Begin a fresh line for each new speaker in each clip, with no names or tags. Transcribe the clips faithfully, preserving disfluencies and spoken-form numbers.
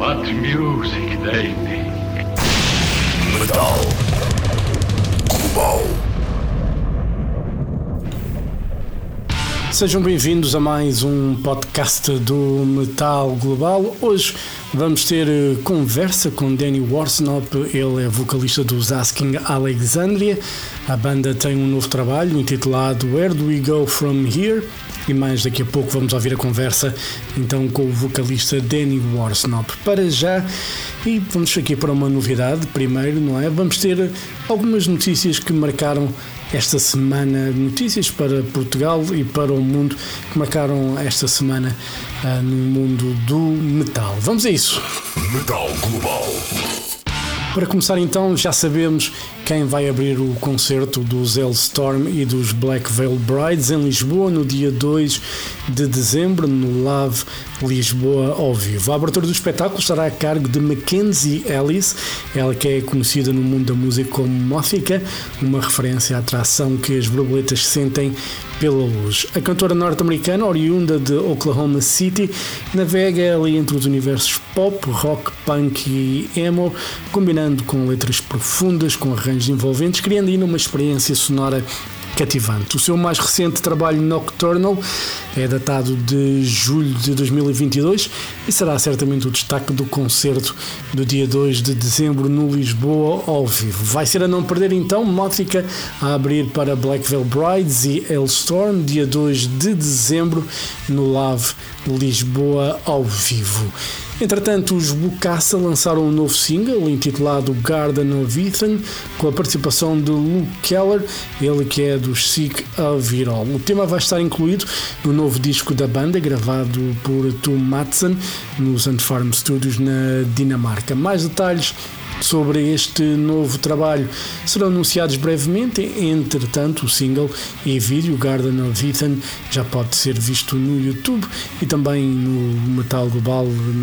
What music they make.
Metal Global.
Sejam bem-vindos a mais um podcast do Metal Global. Hoje vamos ter conversa com Danny Worsnop, ele é vocalista dos Asking Alexandria. A banda tem um novo trabalho intitulado Where Do We Go From Here? E mais daqui a pouco vamos ouvir a conversa então com o vocalista Danny Worsnop. Para já, e vamos aqui para uma novidade primeiro, não é? Vamos ter algumas notícias que marcaram esta semana, notícias para Portugal e para o mundo que marcaram esta semana uh, no mundo do metal. Vamos a isso!
Metal Global.
Para começar então, já sabemos quem vai abrir o concerto dos Hellstorm e dos Black Veil Brides em Lisboa no dia dois de dezembro, no Love Lisboa ao vivo. A abertura do espetáculo estará a cargo de Mackenzie Ellis, ela que é conhecida no mundo da música como Mothica, uma referência à atração que as borboletas sentem pela luz. A cantora norte-americana, oriunda de Oklahoma City, navega ali entre os universos pop, rock, punk e emo, combinando com letras profundas, com arranjos envolventes, criando ainda uma experiência sonora cativante. O seu mais recente trabalho, Nocturnal, é datado de julho de dois mil e vinte e dois e será certamente o destaque do concerto do dia dois de dezembro no Lisboa ao vivo. Vai ser a não perder então Mothica a abrir para Black Veil Brides e Hellstorm dia dois de dezembro no Love Lisboa ao vivo. Entretanto, os Bokassa lançaram um novo single intitulado Garden of Ethan, com a participação de Luke Keller, ele que é dos Sick of It All. O tema vai estar incluído no novo disco da banda, gravado por Tom Madsen nos Antfarm Studios na Dinamarca. Mais detalhes sobre este novo trabalho serão anunciados brevemente. Entretanto, o single e vídeo Garden of Ethan já pode ser visto no YouTube e também no Metal Global,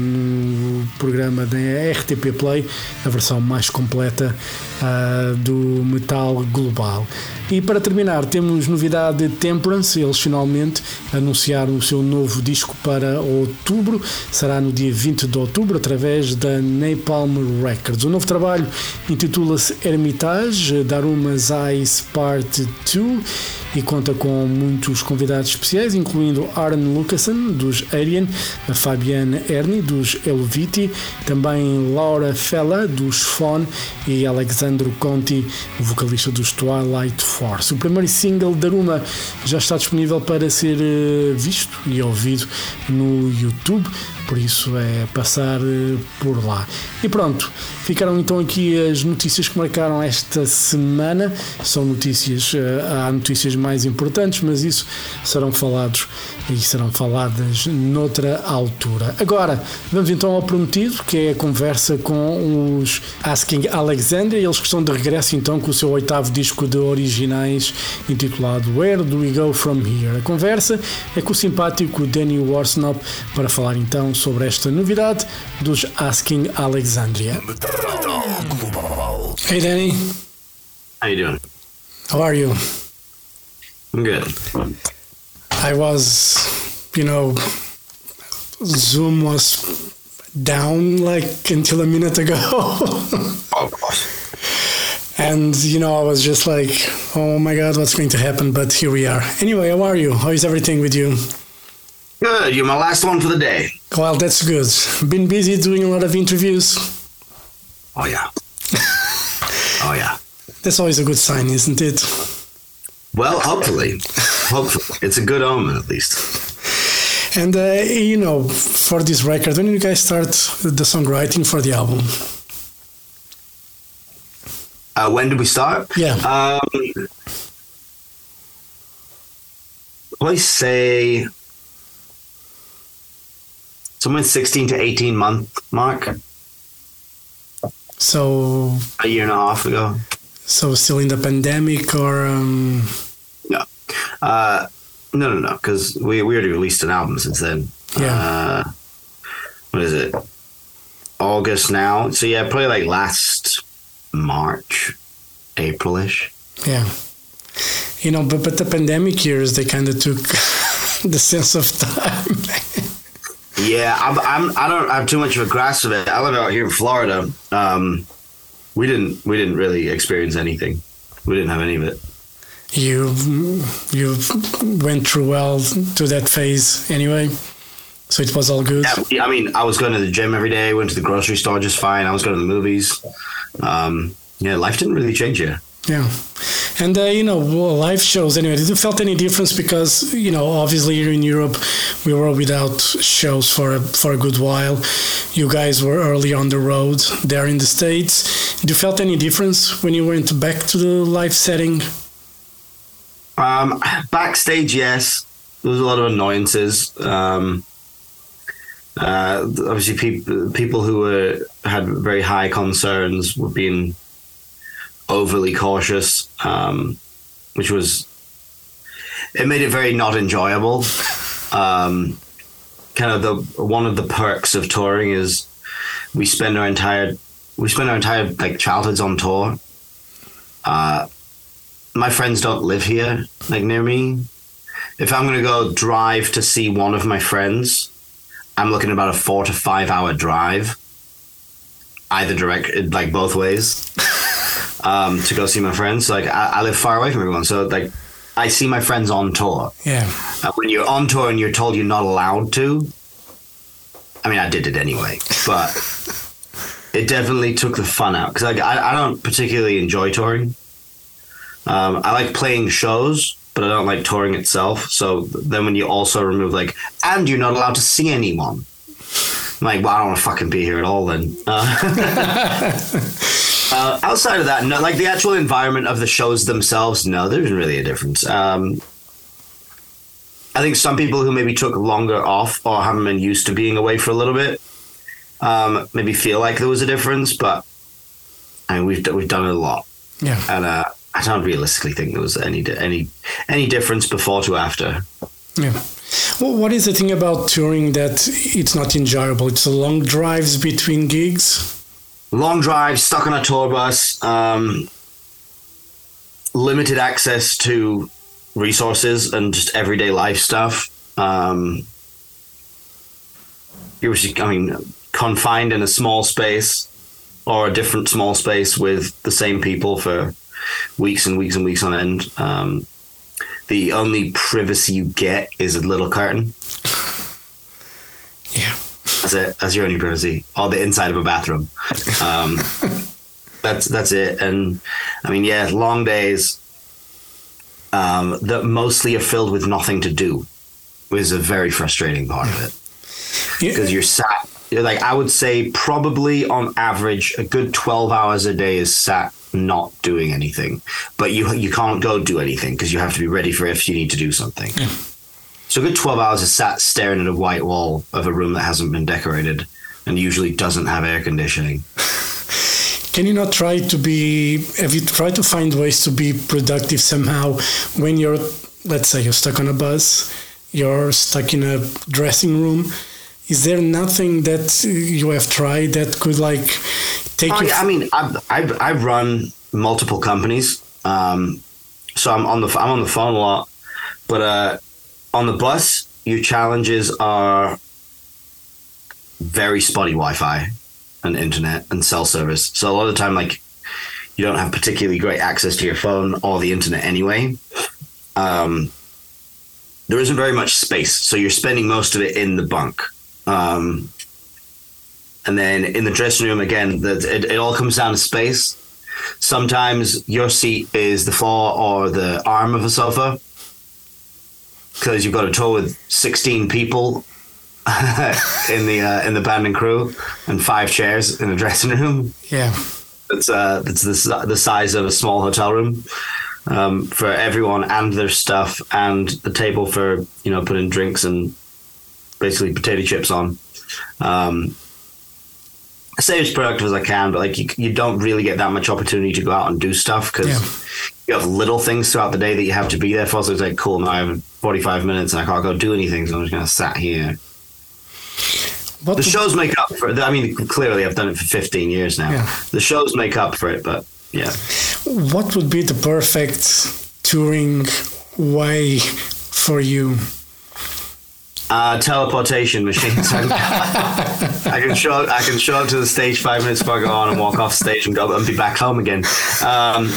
no programa da R T P Play, a versão mais completa uh, do Metal Global. E para terminar, temos novidade de Temperance. Eles finalmente anunciaram o seu novo disco para outubro, será no dia vinte de outubro através da Napalm Records. O novo trabalho intitula-se Hermitage, Daruma's Eyes Part dois e conta com muitos convidados especiais, incluindo Aaron Lucassen dos Alien, a Fabienne Erni dos Helviti, também Laura Fella dos Fawn e Alexandro Conti, vocalista dos Twilight Force. O primeiro single, Daruma, já está disponível para ser visto e ouvido no YouTube, por isso é passar por lá. E pronto, ficaram então aqui as notícias que marcaram esta semana. São notícias, há notícias mais importantes, mas isso serão falados e serão faladas noutra altura. Agora, vamos então ao prometido, que é a conversa com os Asking Alexandria. Eles que estão de regresso então com o seu oitavo disco de originais intitulado Where Do We Go From Here? A conversa é com o simpático Danny Worsnop para falar então sobre esta novidade dos Asking Alexandria. Hey Danny.
How you doing?
How are you?
I'm good.
I was, you know, Zoom was down like until a minute ago.
Oh gosh.
And, you know, I was just like, oh my God, what's going to happen? But here we are. Anyway, how are you? How is everything with you?
Good. You're my last one for the day.
Well, that's good. Been busy doing a lot of interviews.
Oh yeah. Oh yeah.
That's always a good sign, isn't it?
Well, hopefully. Hopefully. It's a good omen, at least.
And, uh, you know, for this record, when did you guys start the songwriting for the album?
Uh, when did we start?
Yeah.
Um, probably say somewhere sixteen to eighteen month mark.
So
A year and a half ago.
So still in the pandemic or um
No. Uh, no, no, no, because we, we already released an album since then.
Yeah.
Uh, what is it? August now. So yeah, probably like last March, April-ish.
Yeah. You know, but, but the pandemic years, they kind of took the sense of time.
Yeah, I'm, I'm. I don't have too much of a grasp of it. I live out here in Florida. Um, we didn't. We didn't really experience anything. We didn't have any of it.
You you went through well to that phase anyway, so it was all good.
Yeah, I mean, I was going to the gym every day. Went to the grocery store just fine. I was going to the movies. Um, yeah, life didn't really change here.
Yeah. And, uh, you know, live shows, anyway, did you felt any difference? Because, you know, obviously here in Europe, we were without shows for a, for a good while. You guys were early on the road there in the States. Did you felt any difference when you went back to the live setting?
Um, backstage, yes. There was a lot of annoyances. Um, uh, obviously, pe- people who were had very high concerns were being overly cautious, um, which was, it made it very not enjoyable. Um, kind of the one of the perks of touring is we spend our entire we spend our entire like childhoods on tour. Uh, my friends don't live here, like near me. If I'm gonna go drive to see one of my friends, I'm looking at about a four to five hour drive, either direct, like both ways. Um, to go see my friends. Like I, I live far away from everyone, so like I see my friends on tour.
Yeah.
Uh, when you're on tour and you're told you're not allowed to, I mean, I did it anyway, but it definitely took the fun out because like I, I don't particularly enjoy touring. Um, I like playing shows, but I don't like touring itself. So then when you also remove like, and you're not allowed to see anyone, I'm like, well, I don't want to fucking be here at all then. Uh, Uh, outside of that, no, like the actual environment of the shows themselves, no, there isn't really a difference. Um, I think some people who maybe took longer off or haven't been used to being away for a little bit, um, maybe feel like there was a difference, but I mean, we've we've done it a lot,
yeah,
and uh, I don't realistically think there was any any any difference before to after.
Yeah. Well, what is the thing about touring that it's not enjoyable? It's the long drives between gigs.
Long drive, stuck on a tour bus, um, limited access to resources and just everyday life stuff. Um, you're, I mean, confined in a small space or a different small space with the same people for weeks and weeks and weeks on end. Um, the only privacy you get is a little curtain.
Yeah.
That's it. That's your only privacy. Or the inside of a bathroom. Um, that's that's it. And I mean, yeah, long days um, that mostly are filled with nothing to do is a very frustrating part of it. Because you're sat, you're like, I would say probably on average, a good twelve hours a day is sat not doing anything. But you you can't go do anything because you have to be ready for if you need to do something. Yeah. So a good twelve hours is sat staring at a white wall of a room that hasn't been decorated and usually doesn't have air conditioning.
Can you not try to be, have you tried to find ways to be productive somehow when you're, let's say you're stuck on a bus, you're stuck in a dressing room? Is there nothing that you have tried that could like take
oh,
you?
Yeah, I mean, I've, I've, I've run multiple companies. Um, so I'm on the, I'm on the phone a lot, but, uh, on the bus, your challenges are very spotty Wi-Fi and internet and cell service. So a lot of the time, like, you don't have particularly great access to your phone or the internet anyway. Um, there isn't very much space, so you're spending most of it in the bunk. Um, and then in the dressing room, again, the, it, it all comes down to space. Sometimes your seat is the floor or the arm of a sofa, because you've got a tour with sixteen people in the uh, in the band and crew and five chairs in a dressing room.
Yeah,
it's uh it's the the size of a small hotel room um, for everyone and their stuff, and the table for you know putting drinks and basically potato chips on. Um, I say as productive as I can, but like you, you don't really get that much opportunity to go out and do stuff because yeah. you have little things throughout the day that you have to be there for. So it's like, cool, now I have forty-five minutes and I can't go do anything, so I'm just going to sat here. What the shows make up for it. I mean, clearly I've done it for fifteen years now. Yeah. The shows make up for it, but yeah.
What would be the perfect touring way for you?
Uh, teleportation machines. I, I can show. I can show up to the stage five minutes before I go on and walk off stage and go and be back home again. Um,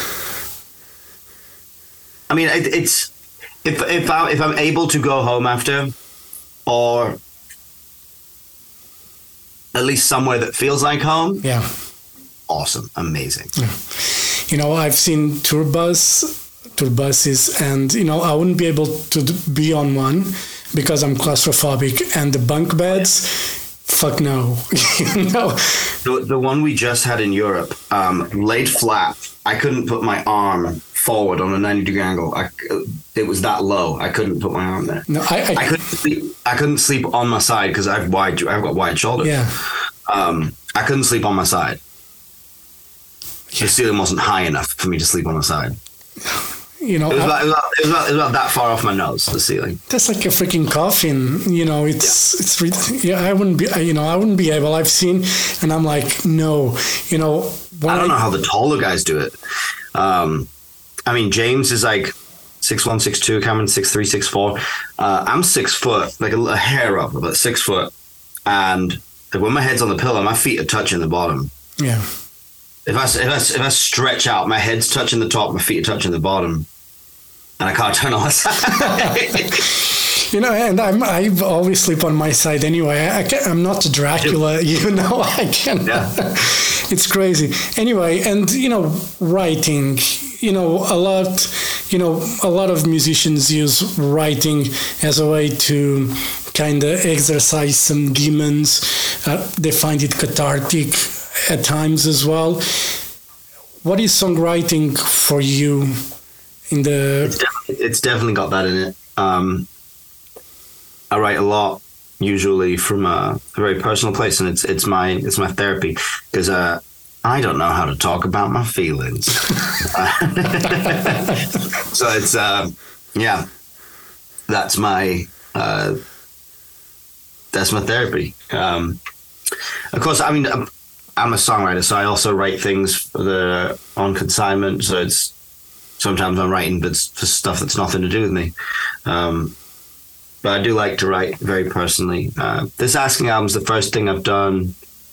I mean, it, it's if if I if I'm able to go home after, or at least somewhere that feels like home.
Yeah.
Awesome, amazing.
Yeah. You know, I've seen tour bus. tour buses, and you know I wouldn't be able to be on one because I'm claustrophobic, and the bunk beds, fuck no. You know?
the, the one we just had in Europe, um, laid flat. I couldn't put my arm forward on a ninety degree angle. I, it was that low. I couldn't put my arm there.
No, I, I,
I couldn't sleep. I couldn't sleep on my side because I've wide. I've got wide shoulders.
Yeah.
Um, I couldn't sleep on my side. The ceiling wasn't high enough for me to sleep on my side.
You know,
it was, about, it, was about, it, was about, it was about that far off my nose, the ceiling.
That's like a freaking coffin. You know, it's yeah. it's re- yeah. I wouldn't be. You know, I wouldn't be able. I've seen, and I'm like, no. You know,
I don't
I,
know how the taller guys do it. Um, I mean, James is like six one, six two. Cameron six three, six four. Uh, I'm six foot, like a, a hair up, but six foot. And like, when my head's on the pillow, my feet are touching the bottom.
Yeah.
If I, if, I, if I stretch out, my head's touching the top, my feet are touching the bottom, and I can't turn on my side.
You know, and I'm, I always sleep on my side anyway. I can't, I'm not Dracula, you know, I can't. Yeah. It's crazy. Anyway, and, you know, writing, you know, a lot, you know, a lot of musicians use writing as a way to kind of exercise some demons. Uh, they find it cathartic at times as well. What is songwriting for you in the...
It's definitely, it's definitely got that in it. Um, I write a lot, usually from a, a very personal place, and it's it's my it's my therapy, because uh, I don't know how to talk about my feelings. So it's, uh, yeah, that's my... Uh, that's my therapy. Um, of course, I mean... I'm, I'm a songwriter, so I also write things that are on consignment. So it's sometimes I'm writing but for stuff that's nothing to do with me. Um, but I do like to write very personally. Uh, this Asking album's the first thing I've done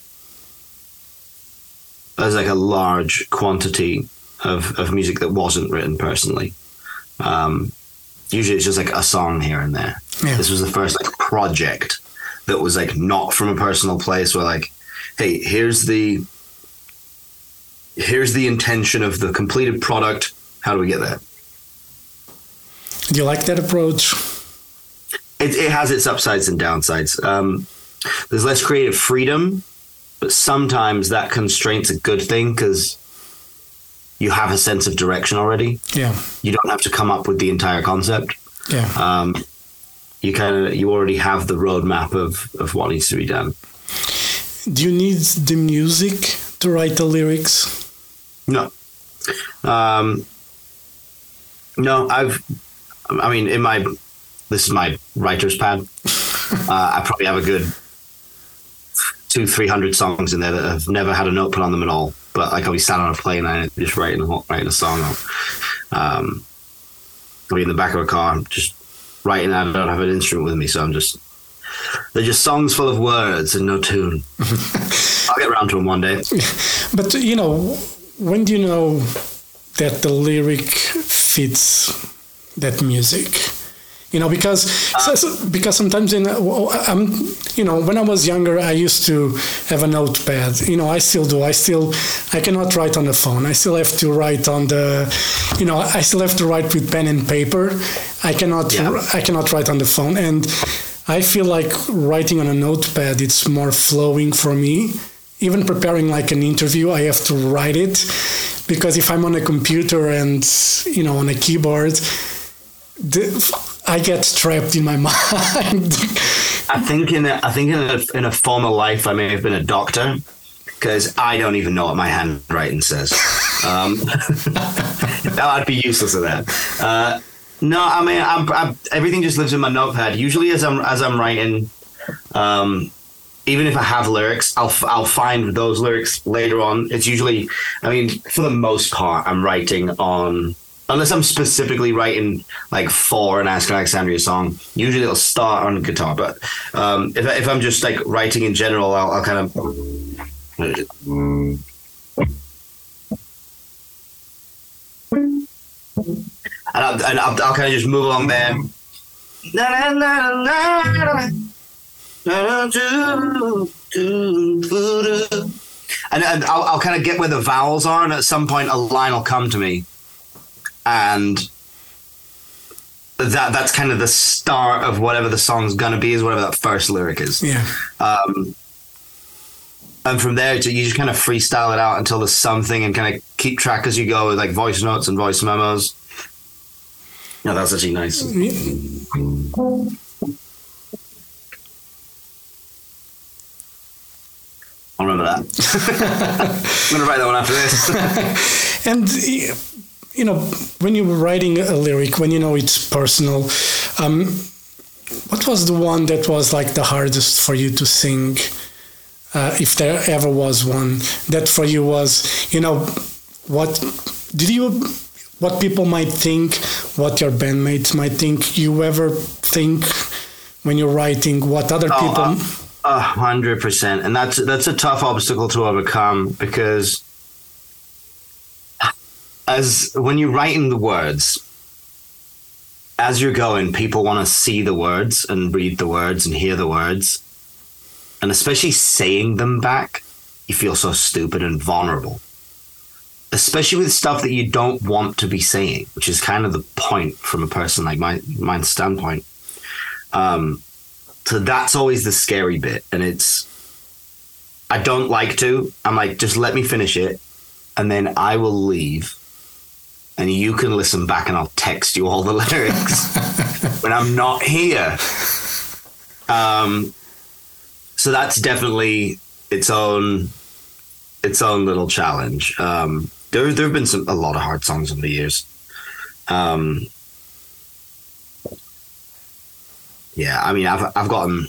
as like a large quantity of, of music that wasn't written personally. Um, usually it's just like a song here and there. Yeah. This was the first like project that was like not from a personal place, where like, hey, here's the here's the intention of the completed product. How do we get there?
Do you like that approach?
It, it has its upsides and downsides. Um, there's less creative freedom, but sometimes that constraint's a good thing because you have a sense of direction already.
Yeah.
You don't have to come up with the entire concept.
Yeah.
Um, you kind of you already have the roadmap of of what needs to be done.
Do you need the music to write the lyrics?
No. Um, no, I've, I mean, in my, this is my writer's pad. uh, I probably have a good two, three hundred songs in there that have never had a note put on them at all. But like I'll be sat on a plane and just writing, writing a song out. Um, I'll be in the back of a car, just writing. I don't have an instrument with me, so I'm just, they're just songs full of words and no tune. I'll get around to them one day.
But, you know, when do you know that the lyric fits that music? You know, because uh, so, because sometimes in I'm you know when I was younger I used to have a notepad. You know, I still do. I still I cannot write on the phone. I still have to write on the, you know, I still have to write with pen and paper. I cannot yeah. I cannot write on the phone, and I feel like writing on a notepad, it's more flowing for me. Even preparing like an interview, I have to write it, because if I'm on a computer and, you know, on a keyboard, the, I get trapped in my mind.
I think in a, I think in a, in a former life, I may have been a doctor, because I don't even know what my handwriting says. Um, I'd be useless at that. Uh, no, I mean, I'm, I'm, everything just lives in my notepad. Usually, as I'm as I'm writing, um, even if I have lyrics, I'll I'll find those lyrics later on. It's usually, I mean, for the most part, I'm writing on unless I'm specifically writing like for an Ask Alexandria song, usually it'll start on guitar. But um, if if I'm just like writing in general, I'll, I'll kind of. And I'll, and I'll, I'll kind of just move along there. And, and I'll, I'll kind of get where the vowels are, and at some point a line will come to me, and that that's kind of the start of whatever the song's gonna be, is whatever that first lyric is.
Yeah.
Um, and from there, you just kind of freestyle it out until there's something, and kind of keep track as you go with like voice notes and voice memos. No, that's actually nice. I'll remember that. I'm going to write that one after this.
And, you know, when you were writing a lyric, when you know it's personal, um, what was the one that was like the hardest for you to sing, uh, if there ever was one, that for you was, you know, what did you, what people might think, what your bandmates might think, you ever think when you're writing, what other
oh,
people...
Uh, A hundred percent, and that's that's a tough obstacle to overcome, because as when you're writing the words, as you're going, people want to see the words and read the words and hear the words, and especially saying them back, you feel so stupid and vulnerable, especially with stuff that you don't want to be saying, which is kind of the point from a person like my my standpoint. Um. So that's always the scary bit. And it's, I don't like to. I'm like, just let me finish it. And then I will leave. And you can listen back and I'll text you all the lyrics when I'm not here. Um, so that's definitely its own, its own little challenge. Um, there, there have been some, a lot of hard songs over the years. Um, Yeah, I mean, I've I've gotten,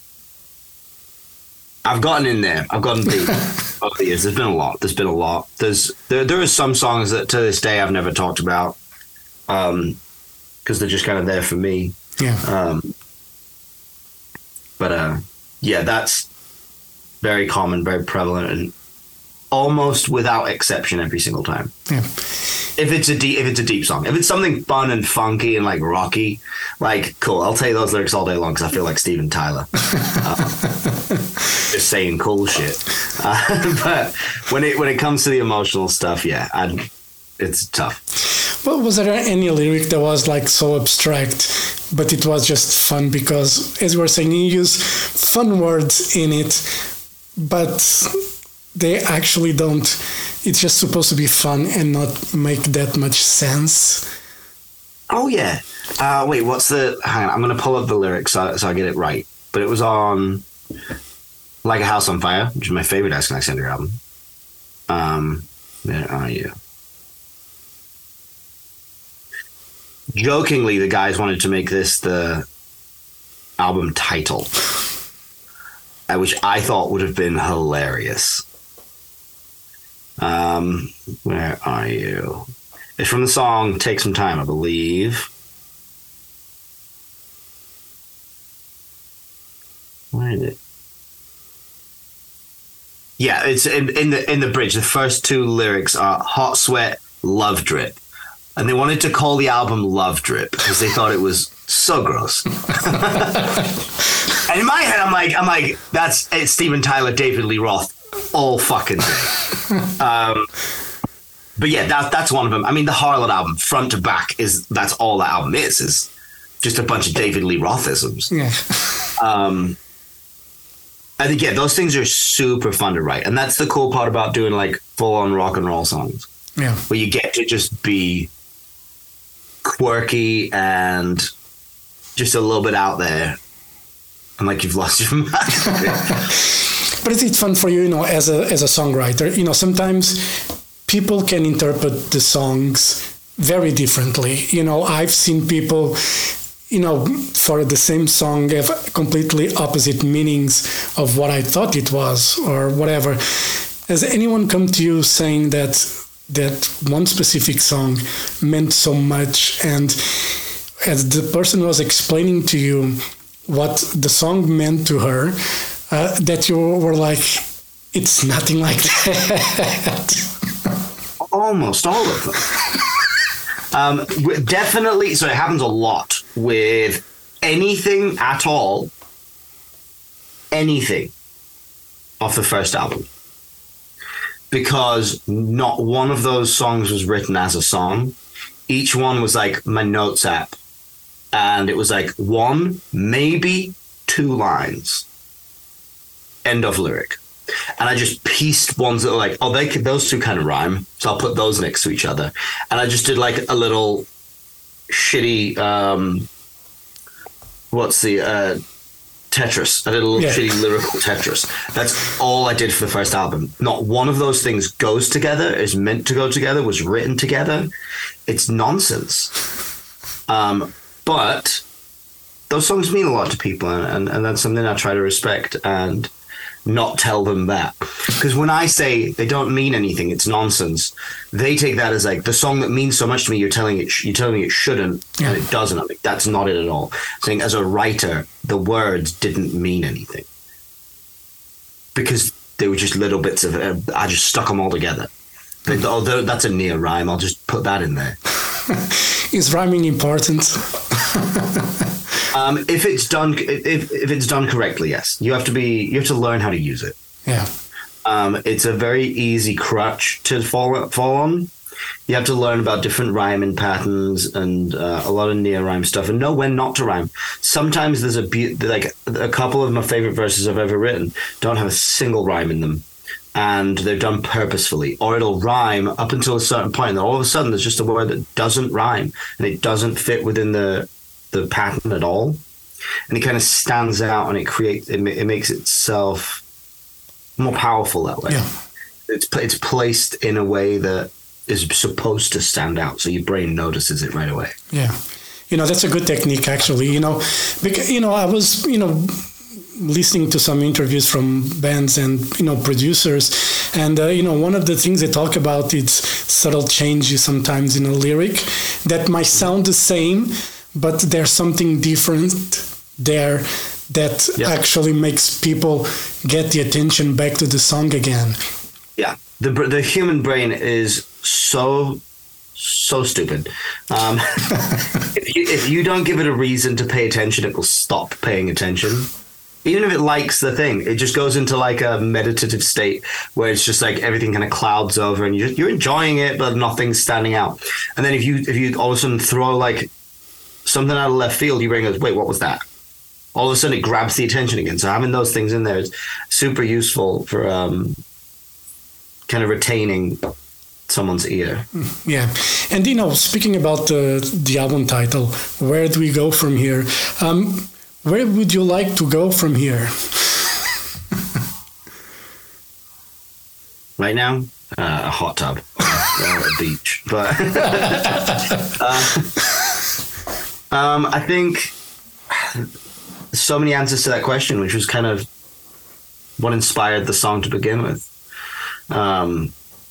I've gotten in there. I've gotten deep over the years. There's been a lot. There's been a lot. There's there there are some songs that to this day I've never talked about, um, because they're just kind of there for me.
Yeah.
Um. But uh, yeah, that's very common, very prevalent, and almost without exception every single time.
Yeah.
If it's a deep, if it's a deep song, if it's something fun and funky and like rocky, like cool, I'll tell you those lyrics all day long because I feel like Steven Tyler, uh, just saying cool shit. Uh, but when it when it comes to the emotional stuff, yeah, I'd, it's tough.
Well, was there any lyric that was like so abstract, but it was just fun because, as you were saying, you use fun words in it, but they actually don't. It's just supposed to be fun and not make that much sense.
Oh yeah. Uh, wait, what's the? Hang on, I'm gonna pull up the lyrics so, so I get it right. But it was on "Like a House on Fire," which is my favorite Ask Alexandria album. Um, where are you? Jokingly, the guys wanted to make this the album title, uh, which I thought would have been hilarious. Um, where are you? It's from the song "Take Some Time," I believe. Where is it? Yeah, it's in, in the in the bridge. The first two lyrics are "Hot Sweat, Love Drip," and they wanted to call the album "Love Drip" because they thought it was so gross. And in my head, I'm like, I'm like, that's it's Steven Tyler, David Lee Roth. All fucking day. um, but yeah, that, that's one of them. I mean, the Harlot album, front to back, is that's all that album is, is just a bunch of David Lee Rothisms.
Yeah.
Um, I think, yeah, those things are super fun to write. And that's the cool part about doing like full on rock and roll songs.
Yeah.
Where you get to just be quirky and just a little bit out there. And like you've lost your mind.
But is it fun for you, you know, as a as a songwriter? You know, sometimes people can interpret the songs very differently. You know, I've seen people, you know, for the same song have completely opposite meanings of what I thought it was or whatever. Has anyone come to you saying that that one specific song meant so much, and as the person was explaining to you what the song meant to her, uh, that you were like, it's nothing like that.
Almost all of them. um, definitely, so it happens a lot with anything at all, anything off the first album. Because not one of those songs was written as a song. Each one was like my notes app. And it was like one, maybe two lines. End of lyric. And I just pieced ones that were like, oh, they could, those two kind of rhyme. So I'll put those next to each other. And I just did like a little shitty, um, what's the, uh, Tetris. I did a little yeah. shitty lyrical Tetris. That's all I did for the first album. Not one of those things goes together, is meant to go together, was written together. It's nonsense. Um, but those songs mean a lot to people, and, and, and that's something I try to respect and not tell them that. Because when I say they don't mean anything, it's nonsense, they take that as like the song that means so much to me, you're telling it, you're telling me it shouldn't, yeah. and it doesn't. I'm like, that's not it at all. I'm saying as a writer, the words didn't mean anything because they were just little bits of it. I just stuck them all together. But, although that's a near rhyme, I'll just put that in there.
Is rhyming important?
Um, if it's done, if if it's done correctly, yes. You have to be, you have to learn how to use it.
Yeah.
Um, it's a very easy crutch to fall fall on. You have to learn about different rhyming patterns and uh, a lot of near rhyme stuff, and know when not to rhyme. Sometimes there's a be- like a couple of my favorite verses I've ever written don't have a single rhyme in them, and they're done purposefully, or it'll rhyme up until a certain point, and all of a sudden there's just a word that doesn't rhyme and it doesn't fit within the the pattern at all, and it kind of stands out, and it creates it, it makes itself more powerful that way.
Yeah.
It's it's placed in a way that is supposed to stand out, so your brain notices it right away.
Yeah, you know, that's a good technique, actually. You know, because you know, I was you know listening to some interviews from bands and you know producers, and uh, you know one of the things they talk about is subtle changes sometimes in a lyric that might sound the same, but there's something different there that yeah. actually makes people get the attention back to the song again.
Yeah, the the human brain is so so stupid. Um, if you if you don't give it a reason to pay attention, it will stop paying attention. Even if it likes the thing, it just goes into like a meditative state where it's just like everything kind of clouds over, and you're you're enjoying it, but nothing's standing out. And then if you if you all of a sudden throw like something out of left field, your brain goes, wait, what was that? All of a sudden it grabs the attention again. So having those things in there is super useful for um, kind of retaining someone's ear.
Yeah. And, you know, speaking about the, the album title, where do we go from here? Um, where would you like to go from here?
Right now, uh, a hot tub or a beach. But uh, um, I think so many answers to that question, which was kind of what inspired the song to begin with. Um,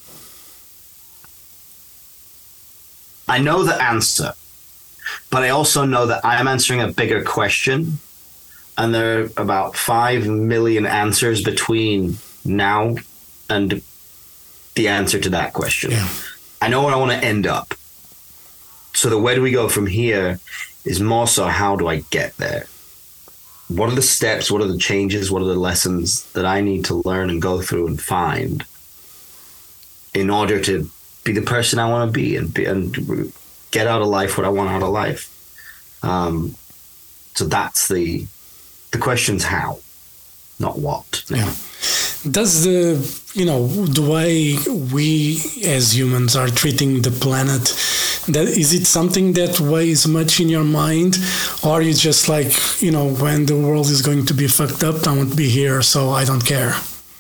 I know the answer, but I also know that I'm answering a bigger question, and there are about five million answers between now and the answer to that question.
Yeah.
I know where I want to end up. So the where do we go from here is more so how do I get there? What are the steps? What are the changes? What are the lessons that I need to learn and go through and find in order to be the person I want to be and be, and get out of life what I want out of life? Um, so that's the the question's how, not what.
Yeah. Does the, you know, the way we as humans are treating the planet, that is it something that weighs much in your mind? Or are you just like, you know, when the world is going to be fucked up, I won't be here, so I don't care?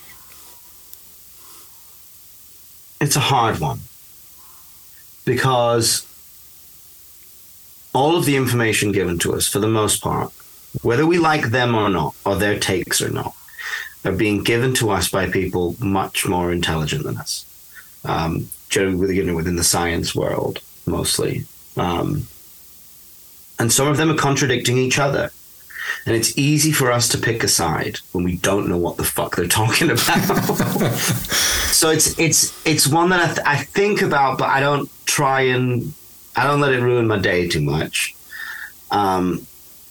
It's a hard one. Because all of the information given to us, for the most part, whether we like them or not, or their takes or not, are being given to us by people much more intelligent than us. Um, generally, you know, within the science world mostly. Um, and some of them are contradicting each other. And it's easy for us to pick a side when we don't know what the fuck they're talking about. So it's it's it's one that I, th- I think about, but I don't try and I don't let it ruin my day too much. Um,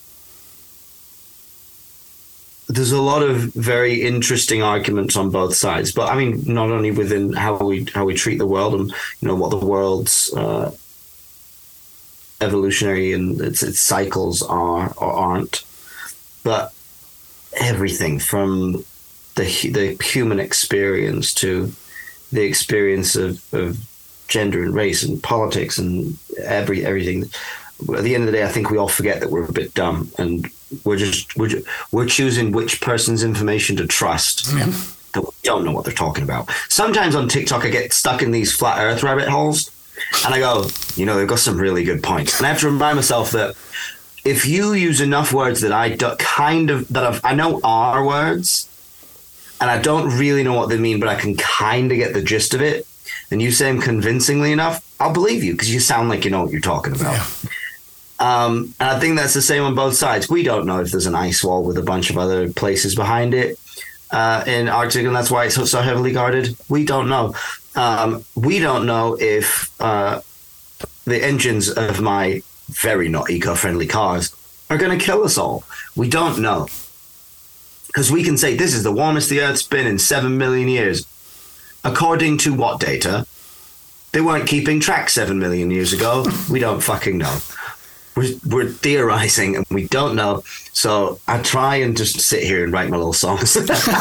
there's a lot of very interesting arguments on both sides, but I mean, not only within how we how we treat the world and you know what the world's uh, evolutionary and its, its cycles are or aren't. But everything from the the human experience to the experience of, of gender and race and politics and every everything. At the end of the day, I think we all forget that we're a bit dumb and we're just we're just, we're choosing which person's information to trust. Yeah. That we don't know what they're talking about. Sometimes on TikTok, I get stuck in these flat Earth rabbit holes, and I go, you know, they've got some really good points, and I have to remind myself that. If you use enough words that I do, kind of that I've, I know are words, and I don't really know what they mean, but I can kind of get the gist of it, and you say them convincingly enough, I'll believe you because you sound like you know what you're talking about. Yeah. Um, and I think that's the same on both sides. We don't know if there's an ice wall with a bunch of other places behind it uh, in Arctic, and that's why it's so, so heavily guarded. We don't know. Um, we don't know if uh, the engines of my very not eco-friendly cars are going to kill us all. We don't know. Because we can say this is the warmest the Earth's been in seven million years. According to what data? They weren't keeping track seven million years ago. We don't fucking know. We're, we're theorizing and we don't know. So I try and just sit here and write my little songs.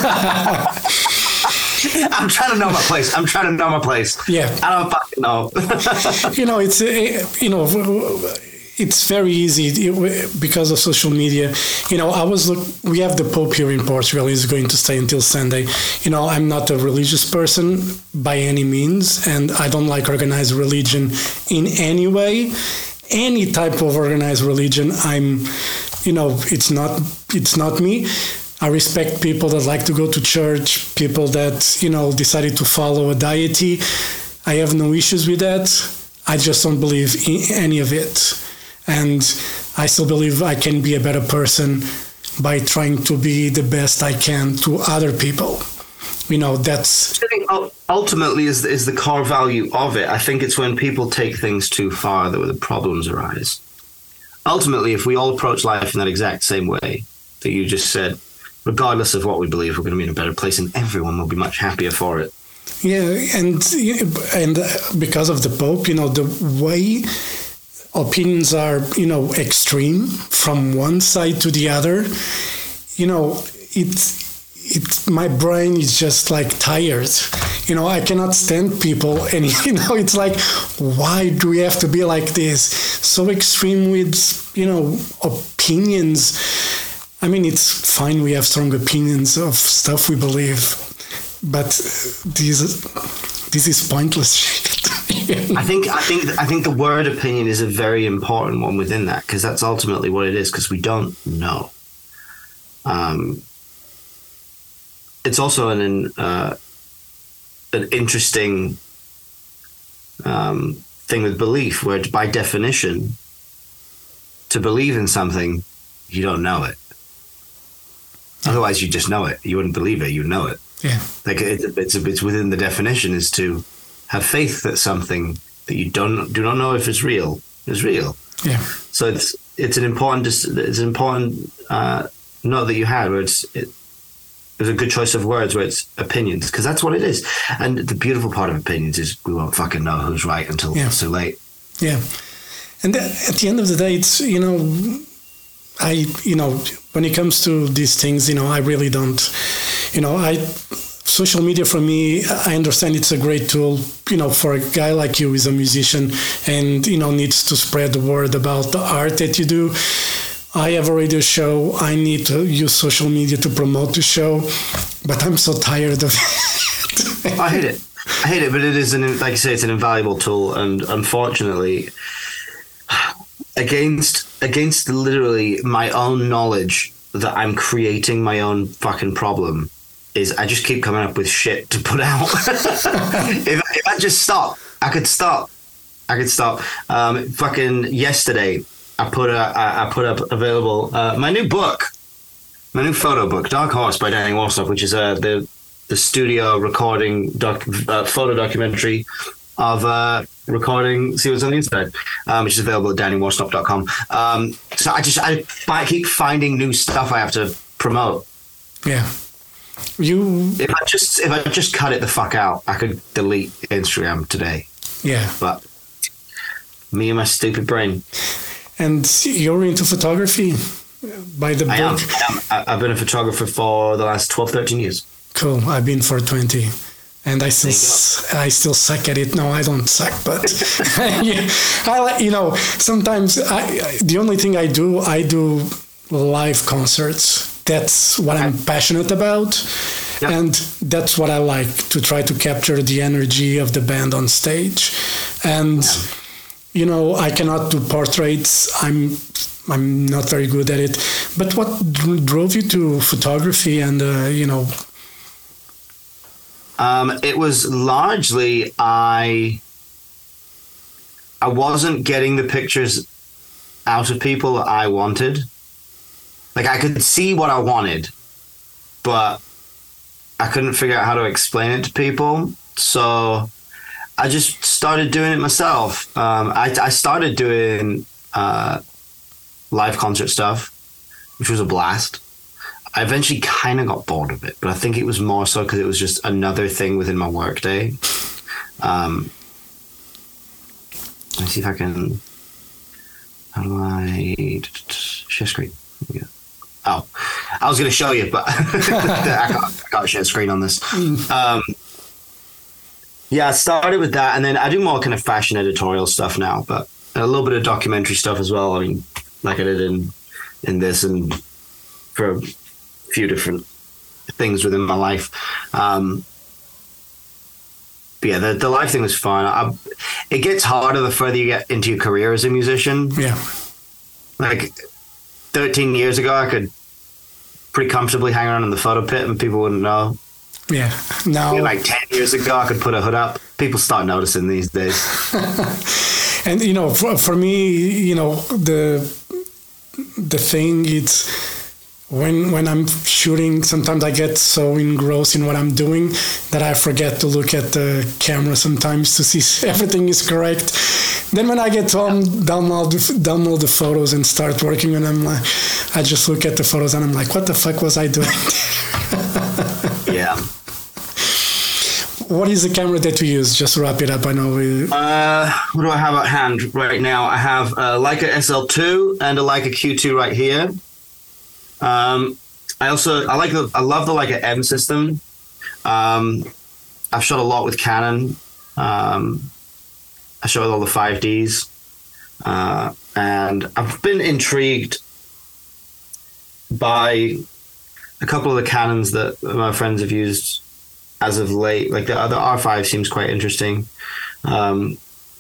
I'm trying to know my place. I'm trying to know my place.
Yeah.
I don't fucking know.
you know, it's, you know, it's very easy because of social media. You know, I was look. We have the Pope here in Portugal. He's going to stay until Sunday. You know, I'm not a religious person by any means, and I don't like organized religion in any way. Any type of organized religion, I'm, you know, it's not. It's not me. I respect people that like to go to church, people that, you know, decided to follow a deity. I have no issues with that. I just don't believe in any of it. And I still believe I can be a better person by trying to be the best I can to other people. You know, that's...
I think ultimately is, is the core value of it. I think it's when people take things too far that the problems arise. Ultimately, if we all approach life in that exact same way that you just said, regardless of what we believe, we're going to be in a better place and everyone will be much happier for it.
Yeah, and and because of the Pope, you know, the way opinions are, you know, extreme from one side to the other, you know, it's it's my brain is just like tired. You know, I cannot stand people, and you know, it's like, why do we have to be like this? So extreme with, you know, opinions. I mean, it's fine we have strong opinions of stuff we believe, but this this is pointless shit.
I think I think I think the word opinion is a very important one within that, because that's ultimately what it is, because we don't know. Um, it's also an uh, an interesting um, thing with belief, where by definition, to believe in something, you don't know it. Otherwise, you just know it. You wouldn't believe it. You know it.
Yeah.
Like it, it's it's within the definition is to have faith that something that you don't do not know if it's real is real.
Yeah.
So it's it's an important it's an important uh, note that you had where it's it, it was a good choice of words where it's opinions, because that's what it is. And the beautiful part of opinions is we won't fucking know who's right until
yeah.
it's too late.
Yeah. And at the end of the day, it's, you know, I, you know, when it comes to these things, you know, I really don't, you know, I, social media for me, I understand it's a great tool, you know, for a guy like you who's a musician and, you know, needs to spread the word about the art that you do. I have a radio show. I need to use social media to promote the show, but I'm so tired of it.
I hate it. I hate it, but it is, an, like you say, it's an invaluable tool. And unfortunately, against against literally my own knowledge that I'm creating my own fucking problem, is I just keep coming up with shit to put out. if, if I just stop, I could stop. I could stop. Um, fucking yesterday, I put a, I, I put up available uh, my new book, my new photo book, Dark Horse by Danny Worsnop, which is uh, the the studio recording doc, uh, photo documentary of uh, recording See What's on the Inside, um, which is available at danny worsnop dot com. Um, so I just I, I keep finding new stuff I have to promote.
Yeah. You.
If I just if I just cut it the fuck out, I could delete Instagram today.
Yeah.
But me and my stupid brain.
And you're into photography by the
I am.
book.
I am. I- I've been a photographer for the last twelve, thirteen years.
Cool. I've been for twenty. And I still, s- I still suck at it. No, I don't suck, but yeah, I like, you know, sometimes I, I, the only thing I do, I do live concerts. That's what I'm passionate about.
Yep.
And that's what I like, to try to capture the energy of the band on stage. And, you know, I cannot do portraits. I'm, I'm not very good at it. But what dr- drove you to photography and, uh, you know,
Um, it was largely I I wasn't getting the pictures out of people that I wanted. Like, I could see what I wanted, but I couldn't figure out how to explain it to people. So I just started doing it myself. Um, I, I started doing uh, live concert stuff, which was a blast. I eventually kind of got bored of it, but I think it was more so because it was just another thing within my workday. Um, let me see if I can. How do I share screen? Yeah. Oh, I was going to show you, but I can't, I can't share screen on this. Um, yeah, I started with that, and then I do more kind of fashion editorial stuff now, but a little bit of documentary stuff as well. I mean, like I did in in this, and for few different things within my life. Um, but yeah, the, the live thing was fun. I, it gets harder the further you get into your career as a musician.
yeah.
Like thirteen years ago, I could pretty comfortably hang around in the photo pit and people wouldn't know.
Yeah. Now,
Like ten years ago, I could put a hood up. People start noticing these days.
and you know, for, for me, you know, the the thing it's when when I'm shooting, sometimes I get so engrossed in what I'm doing that I forget to look at the camera sometimes to see if everything is correct. Then when I get home, download the, download the photos and start working, and I'm like, I just look at the photos and I'm like, what the fuck was I doing?
Yeah.
What is the camera that you use? Just wrap it up. I know we...
Uh, what do I have at hand right now? I have a Leica S L two and a Leica Q two right here. Um, I also I like the I love the Leica M system. Um, I've shot a lot with Canon. Um, I shot with all the five Ds, uh, and I've been intrigued by a couple of the Canons that my friends have used as of late. Like the other R five seems quite interesting. Um,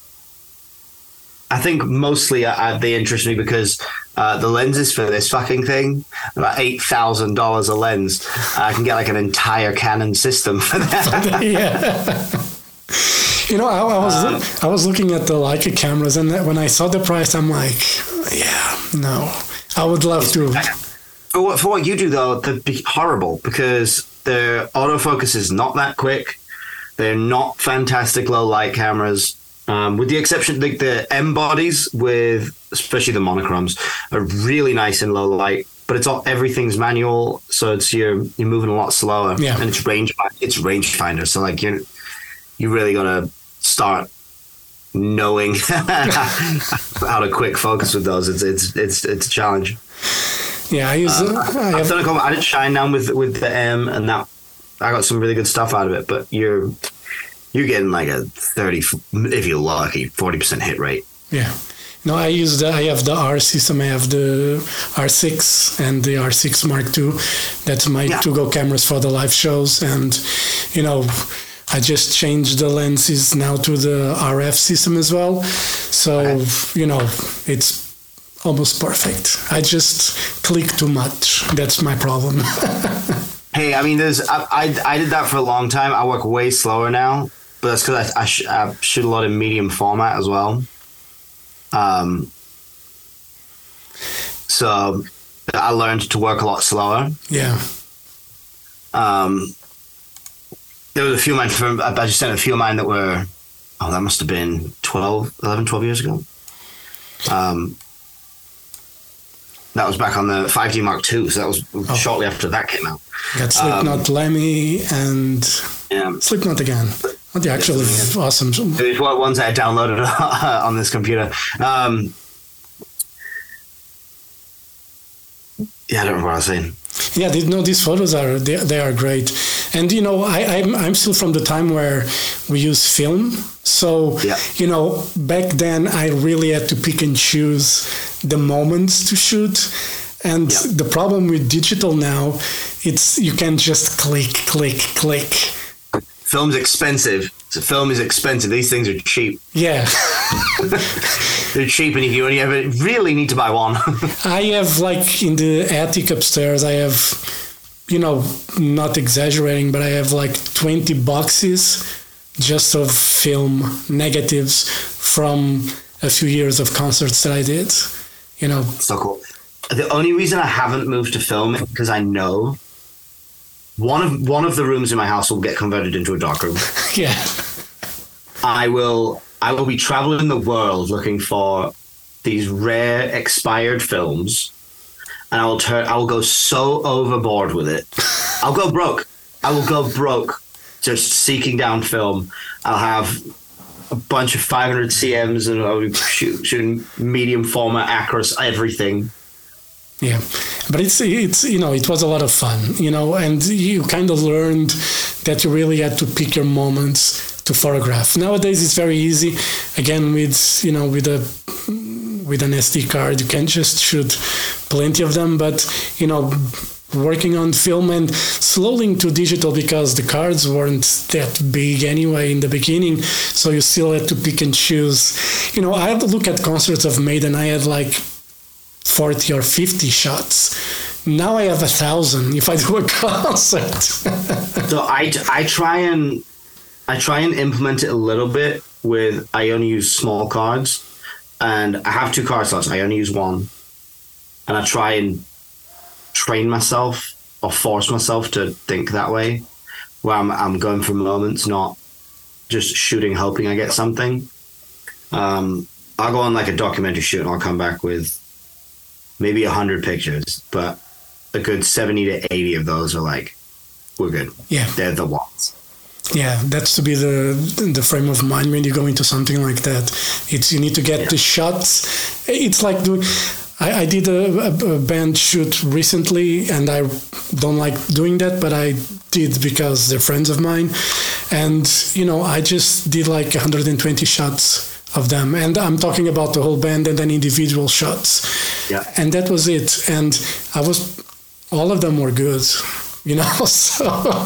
I think mostly uh, they interest me because uh, the lenses for this fucking thing, about eight thousand dollars a lens. I can get like an entire Canon system for that.
Yeah. You know, I, I was
Um,
I was looking at the Leica cameras, and when I saw the price, I'm like, yeah, no, I would love to.
For what, for what you do, though, that'd be horrible because the autofocus is not that quick. They're not fantastic low light cameras. Um, with the exception, like the M bodies, with especially the monochromes, are really nice in low light. But it's all everything's manual, so it's you're you're moving a lot slower.
Yeah.
And it's range it's rangefinder, so like you you really gotta start knowing how to quick focus with those. It's it's it's it's a challenge.
Yeah, I use.
Um,
Uh, I
I've
have,
done a couple. I did Shine Down with with the M, and that I got some really good stuff out of it. But you're you're getting like a thirty, if you're lucky, forty percent hit rate.
yeah. No, I use the. I have the R system. I have the R six and the R six Mark two. That's my
Yeah.
to-go cameras for the live shows, and you know, I just changed the lenses now to the R F system as well. So
Okay.
you know, it's almost perfect. I just click too much. That's my problem.
Hey, I mean, there's I, I I did that for a long time. I work way slower now, but that's because I I, sh- I shoot a lot in medium format as well. Um, so I learned to work a lot slower.
Yeah.
Um, there was a few of mine. I just sent a few of mine that were. Oh, that must have been twelve, eleven, twelve years ago. Um, that was back on the five D Mark two, so that was oh. shortly after that came out.
Got Slipknot, um, Lemmy, and
yeah.
Slipknot again. Oh, they're actually yeah, awesome.
There's ones I downloaded on this computer. Um, yeah, I don't remember what I was saying.
Yeah, they, no, these photos are they, they are great, and you know I I'm I'm still from the time where we use film. So
yeah.
you know back then I really had to pick and choose the moments to shoot, and yeah. the problem with digital now, it's you can just click click click.
Film's expensive. So film is expensive. These things are cheap.
Yeah.
They're cheap, and if you only ever really need to buy one.
I have, like, in the attic upstairs, I have, you know, not exaggerating, but I have like twenty boxes just of film negatives from a few years of concerts that I did, you know.
So cool. The only reason I haven't moved to film is because I know one of one of the rooms in my house will get converted into a dark room.
Yeah.
I will I will be traveling the world looking for these rare expired films, and I will turn I will go so overboard with it. I'll go broke. I will go broke just seeking down film. I'll have a bunch of five hundred C Ms and I'll be shoot, shooting medium format, Acros, everything.
Yeah, but it's it's you know it was a lot of fun, you know, and you kind of learned that you really had to pick your moments to photograph. Nowadays it's very easy. Again, with you know with a with an S D card, you can just shoot plenty of them. But you know, working on film and slowly into digital because the cards weren't that big anyway in the beginning, so you still had to pick and choose. You know, I had to look at concerts of Maiden. I had like forty or fifty shots. Now I have a thousand if I do a concert.
So I, I try and I try and implement it a little bit with I only use small cards, and I have two card slots. I only use one, and I try and train myself or force myself to think that way, where I'm I'm going for moments, not just shooting hoping I get something. Um, I'll go on like a documentary shoot and I'll come back with maybe a hundred pictures, but a good seventy to eighty of those are like, we're good.
Yeah,
they're the ones.
Yeah, that's to be the the frame of mind when you go into something like that. It's you need to get yeah. the shots. It's like doing. I, I did a, a, a band shoot recently, and I don't like doing that, but I did because they're friends of mine, and you know I just did like one hundred twenty shots of them, and I'm talking about the whole band and then individual shots.
Yeah,
and that was it. And I was, all of them were good, you know. So.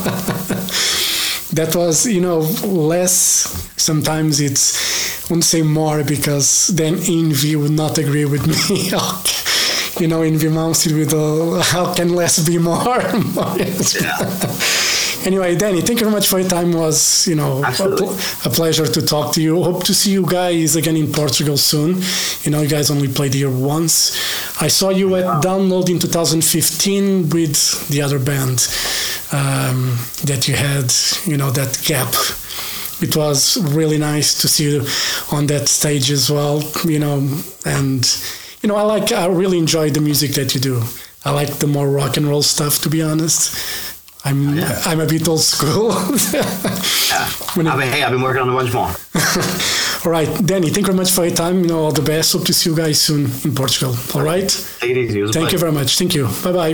That was, you know, less. Sometimes it's, I wouldn't say more because then Envy would not agree with me. You know, Envy mounted with a, how can less be more?
Yeah.
Anyway, Danny, thank you very much for your time. It was, you know, a, a pleasure to talk to you. Hope to see you guys again in Portugal soon. You know, you guys only played here once. I saw you at wow. Download in two thousand fifteen with the other band um, that you had, you know, that gap. It was really nice to see you on that stage as well, you know, and, you know, I like, I really enjoy the music that you do. I like the more rock and roll stuff, to be honest. I'm yeah. I'm a bit old school.
yeah. When it, I mean, hey, I've been working on a bunch more.
All right, Danny, thank you very much for your time. You know, all the best. Hope to see you guys soon in Portugal. All right?
Take it easy. It
Thank you very much. Thank you. Bye-bye.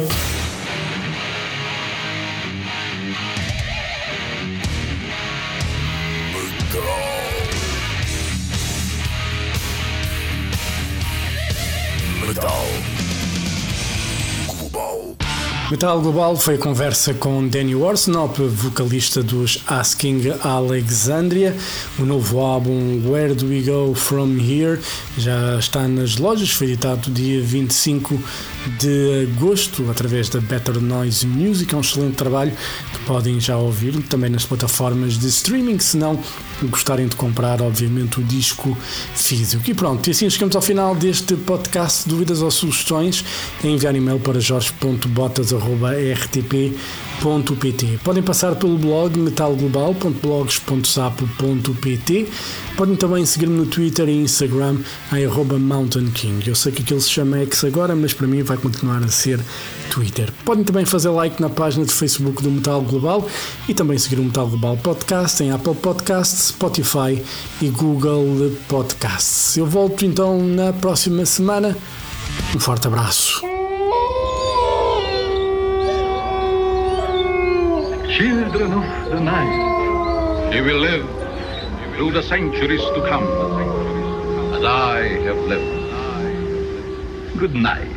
Metal Global foi a conversa com Danny Worsnop, vocalista dos Asking Alexandria. O novo álbum Where Do We Go From Here já está nas lojas, foi editado dia vinte e cinco de agosto através da Better Noise Music. É um excelente trabalho que podem já ouvir também nas plataformas de streaming, se não gostarem de comprar, obviamente, o disco físico. E pronto, e assim chegamos ao final deste podcast. Dúvidas ou sugestões, é enviar e-mail para jorge ponto botas arroba r t p ponto p t. Podem passar pelo blog metal global ponto blogs ponto sapo ponto p t. Podem também seguir-me no Twitter e Instagram em arroba Mountain King. Eu sei que aquilo se chama X agora, mas para mim vai continuar a ser Twitter. Podem também fazer like na página de Facebook do Metal Global e também seguir o Metal Global Podcast em Apple Podcasts, Spotify e Google Podcasts. Eu volto então na próxima semana. Um forte abraço.
Children of the night, you will live through the centuries to come, as I have lived. Good night.